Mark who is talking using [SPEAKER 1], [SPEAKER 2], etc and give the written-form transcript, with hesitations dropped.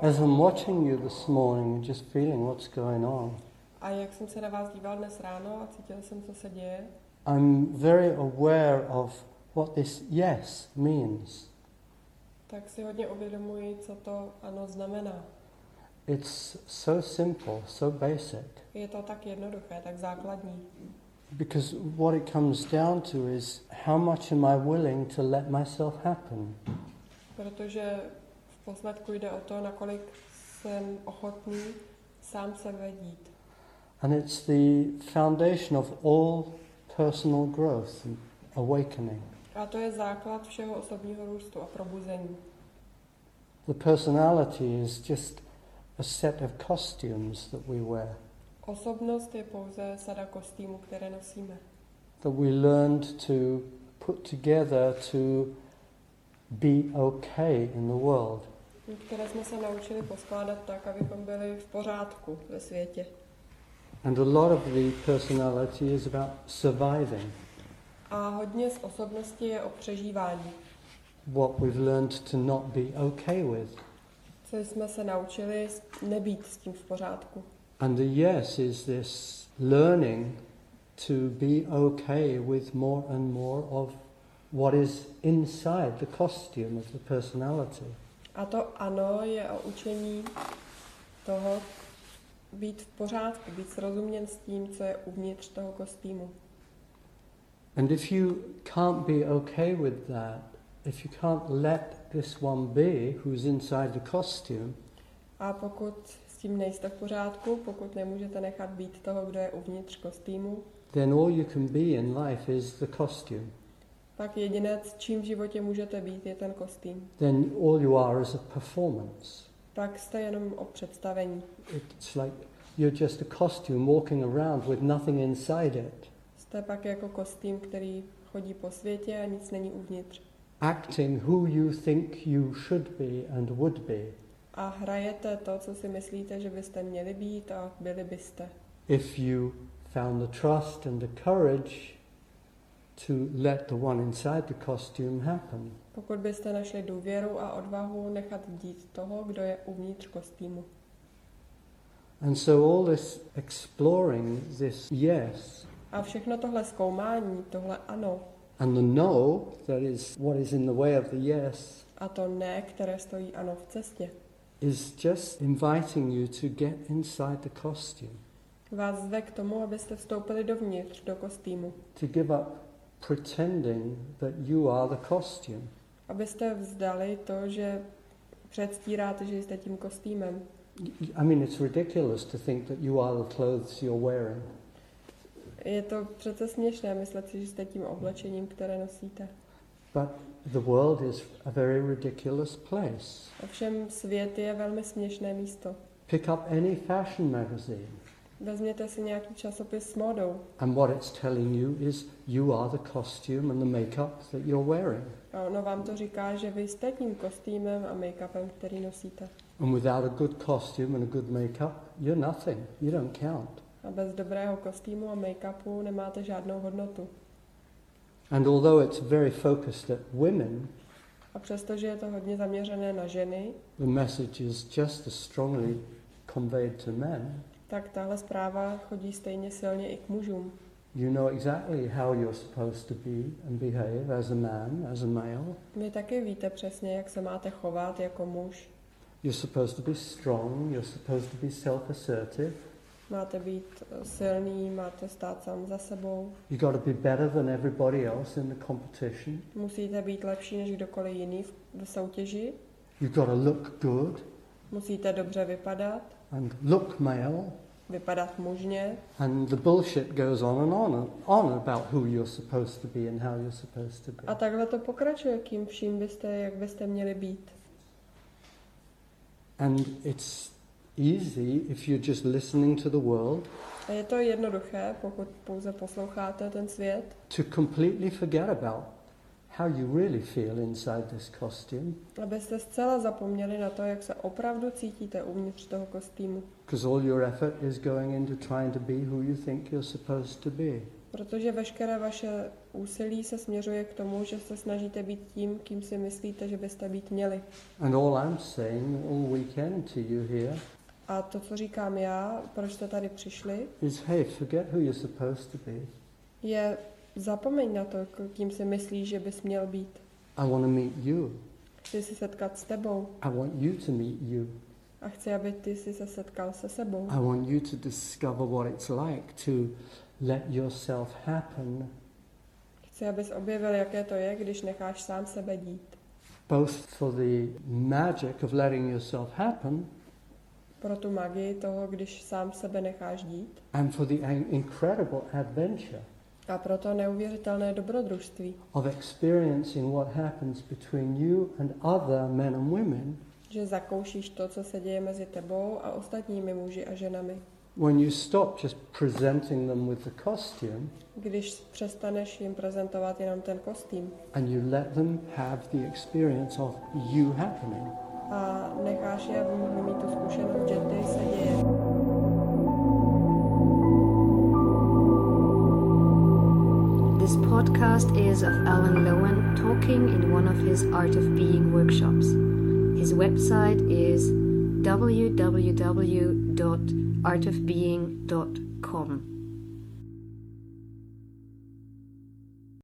[SPEAKER 1] As I'm watching you this morning and just feeling what's going on,
[SPEAKER 2] A jak jsem se na vás díval dnes ráno a cítil jsem, co se děje,
[SPEAKER 1] I'm very aware of what this yes means.
[SPEAKER 2] tak si hodně uvědomuji, co to ano znamená.
[SPEAKER 1] It's so simple, so basic.
[SPEAKER 2] Je to tak jednoduché, tak základní.
[SPEAKER 1] Because what it comes down to is how much am I willing to let myself happen?
[SPEAKER 2] Protože v posledku jde o to, nakolik jsem ochotný sám sebe dít.
[SPEAKER 1] And it's the foundation of all personal growth and awakening.
[SPEAKER 2] A to je základ všeho osobního růstu a probuzení.
[SPEAKER 1] The personality is just a set of costumes that we wear,
[SPEAKER 2] Osobnost je pouze sada kostýmů, které nosíme.
[SPEAKER 1] that we learned to put together to be okay in the world.
[SPEAKER 2] Které jsme se naučili poskládat tak, abychom byli v pořádku ve světě.
[SPEAKER 1] And a lot of the personality is about surviving
[SPEAKER 2] A hodně z osobnosti je o přežívání.
[SPEAKER 1] what we've learned to not be okay with.
[SPEAKER 2] Co jsme se naučili nebýt s tím v pořádku.
[SPEAKER 1] And the yes is this learning to be okay with more and more of what is inside the costume of the personality.
[SPEAKER 2] A to ano je o učení toho být v pořádku, být srozuměn s tím, co je uvnitř toho kostýmu.
[SPEAKER 1] And if you can't be okay with that, if you can't let this one be who's inside the costume,
[SPEAKER 2] A pokud s tím nejste v pořádku, pokud nemůžete nechat být toho, kdo je uvnitř kostýmu,
[SPEAKER 1] then all you can be in life is the costume.
[SPEAKER 2] pak jediné, čím v životě můžete být, je ten kostým.
[SPEAKER 1] Then all you are is a performance.
[SPEAKER 2] Tak jste jenom o představení.
[SPEAKER 1] It's like you're just a costume walking around with nothing inside it,
[SPEAKER 2] Jste pak jako kostým, který chodí po světě a nic není uvnitř.
[SPEAKER 1] acting who you think you should be and would be.
[SPEAKER 2] A hrajete to, co si myslíte, že byste měli být a byli byste.
[SPEAKER 1] If you found the trust and the courage to let the one inside the costume happen.
[SPEAKER 2] Pokud byste našli důvěru a odvahu nechat dít toho, kdo je uvnitř kostýmu.
[SPEAKER 1] And so all this exploring, this yes,
[SPEAKER 2] A všechno tohle zkoumání, tohle ano
[SPEAKER 1] and the no, that is what is in the way of the yes,
[SPEAKER 2] a to ne, které stojí ano v cestě,
[SPEAKER 1] is just inviting you to get inside the costume,
[SPEAKER 2] vás zve k tomu, abyste vstoupili dovnitř, do kostýmu.
[SPEAKER 1] to give up pretending that you are the costume.
[SPEAKER 2] Abyste vzdali to, že předstíráte, že jste tím kostýmem.
[SPEAKER 1] I mean, it's ridiculous to think that you are the clothes you're wearing.
[SPEAKER 2] Je to přece směšné myslet si, že jste tím oblečením, které nosíte.
[SPEAKER 1] But the world is a very ridiculous place.
[SPEAKER 2] Ovšem svět je velmi směšné místo.
[SPEAKER 1] Pick up any fashion magazine,
[SPEAKER 2] Vezměte si nějaký časopis s módou
[SPEAKER 1] and what it's telling you is you are the costume and the makeup that you're wearing.
[SPEAKER 2] a ono vám to říká, že vy jste tím kostýmem a make-upem, který nosíte.
[SPEAKER 1] And without a good costume and a good makeup, you're nothing. You don't count.
[SPEAKER 2] A bez dobrého kostýmu a make-upu nemáte žádnou hodnotu.
[SPEAKER 1] And although it's very focused at women,
[SPEAKER 2] A přestože je to hodně zaměřené na ženy,
[SPEAKER 1] the message is just as strongly conveyed to men.
[SPEAKER 2] tak tahle zpráva chodí stejně silně i k mužům.
[SPEAKER 1] You know exactly how you're supposed to be and behave as a man, as a male.
[SPEAKER 2] Vy taky víte přesně, jak se máte chovat jako muž.
[SPEAKER 1] You're supposed to be strong, you're supposed to be self-assertive.
[SPEAKER 2] Máte být silný, máte stát sám za sebou.
[SPEAKER 1] You've got to be better than everybody else in the competition.
[SPEAKER 2] Musíte být lepší než kdokoliv jiný v soutěži.
[SPEAKER 1] You've got to look good
[SPEAKER 2] Musíte dobře vypadat,
[SPEAKER 1] and look male.
[SPEAKER 2] vypadat mužně.
[SPEAKER 1] And the bullshit goes on and on and on about who you're supposed to be and how you're supposed to be.
[SPEAKER 2] A takhle to pokračuje, kým vším byste, jak byste měli být.
[SPEAKER 1] And it's easy if you're just listening to the world
[SPEAKER 2] A je to jednoduché, pokud pouze posloucháte ten svět,
[SPEAKER 1] to completely forget about how you really feel inside this costume,
[SPEAKER 2] abyste zcela zapomněli na to, jak se opravdu cítíte uvnitř toho kostýmu.
[SPEAKER 1] because all your effort is going into trying to be who you think you're supposed to be.
[SPEAKER 2] Protože veškeré vaše úsilí se směřuje k tomu, že se snažíte být tím, kým si myslíte, že byste být měli.
[SPEAKER 1] And all I'm saying all weekend to you here
[SPEAKER 2] A to, co říkám já, proč jste tady přišli,
[SPEAKER 1] is, hey, forget who you're supposed to be.
[SPEAKER 2] je zapomeň na to, kým si myslíš, že bys měl být.
[SPEAKER 1] I want to meet you.
[SPEAKER 2] Chci si setkat s tebou
[SPEAKER 1] I want you to meet you.
[SPEAKER 2] a chci, aby ty si se setkal se sebou.
[SPEAKER 1] I want you to discover what it's like to let yourself happen,
[SPEAKER 2] Chci, abys objevil, jaké to je, když necháš sám sebe dít.
[SPEAKER 1] both for the magic of letting yourself happen
[SPEAKER 2] Pro tu magii toho, když sám sebe necháš dít.
[SPEAKER 1] and for the incredible adventure
[SPEAKER 2] A pro to neuvěřitelné dobrodružství,
[SPEAKER 1] of experiencing what happens between you and other men and women
[SPEAKER 2] že zakoušíš to, co se děje mezi tebou a ostatními muži a ženami.
[SPEAKER 1] when you stop just presenting them with the costume
[SPEAKER 2] Když přestaneš jim prezentovat jenom ten kostým
[SPEAKER 1] and you let them have the experience of you happening.
[SPEAKER 2] a necháš je, aby mohli mít tu zkušenost, že ty se děje.
[SPEAKER 3] This podcast is of Alan Lowen talking in one of his Art of Being workshops. His website is www.artofbeing.com.